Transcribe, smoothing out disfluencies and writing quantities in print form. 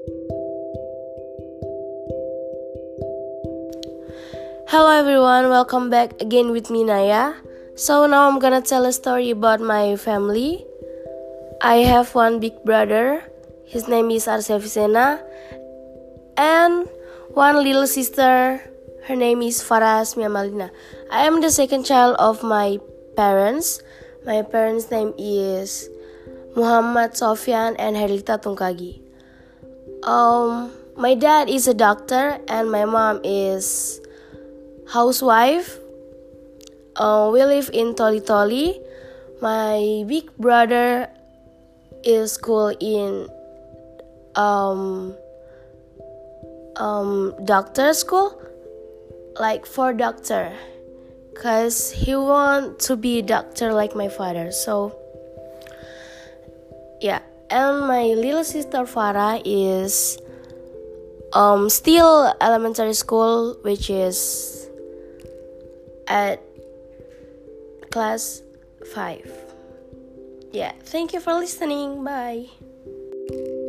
Hello everyone, welcome back again with me Naya. So now I'm gonna tell a story about my family. I have one big brother, his name is Arsya Vicena, and one little sister, her name is Farah Asmia Malina. I am the second child of my parents. My parents' name is Muhammad Sofyan and Herlita Tungkagi. My dad is a doctor and my mom is housewife. We live in Toli-Toli. My big brother is school in doctor school, like for doctor, cause he want to be a doctor like my father. So yeah, and my little sister Farah is still elementary school, which is at class 5. Yeah, thank you for listening. Bye.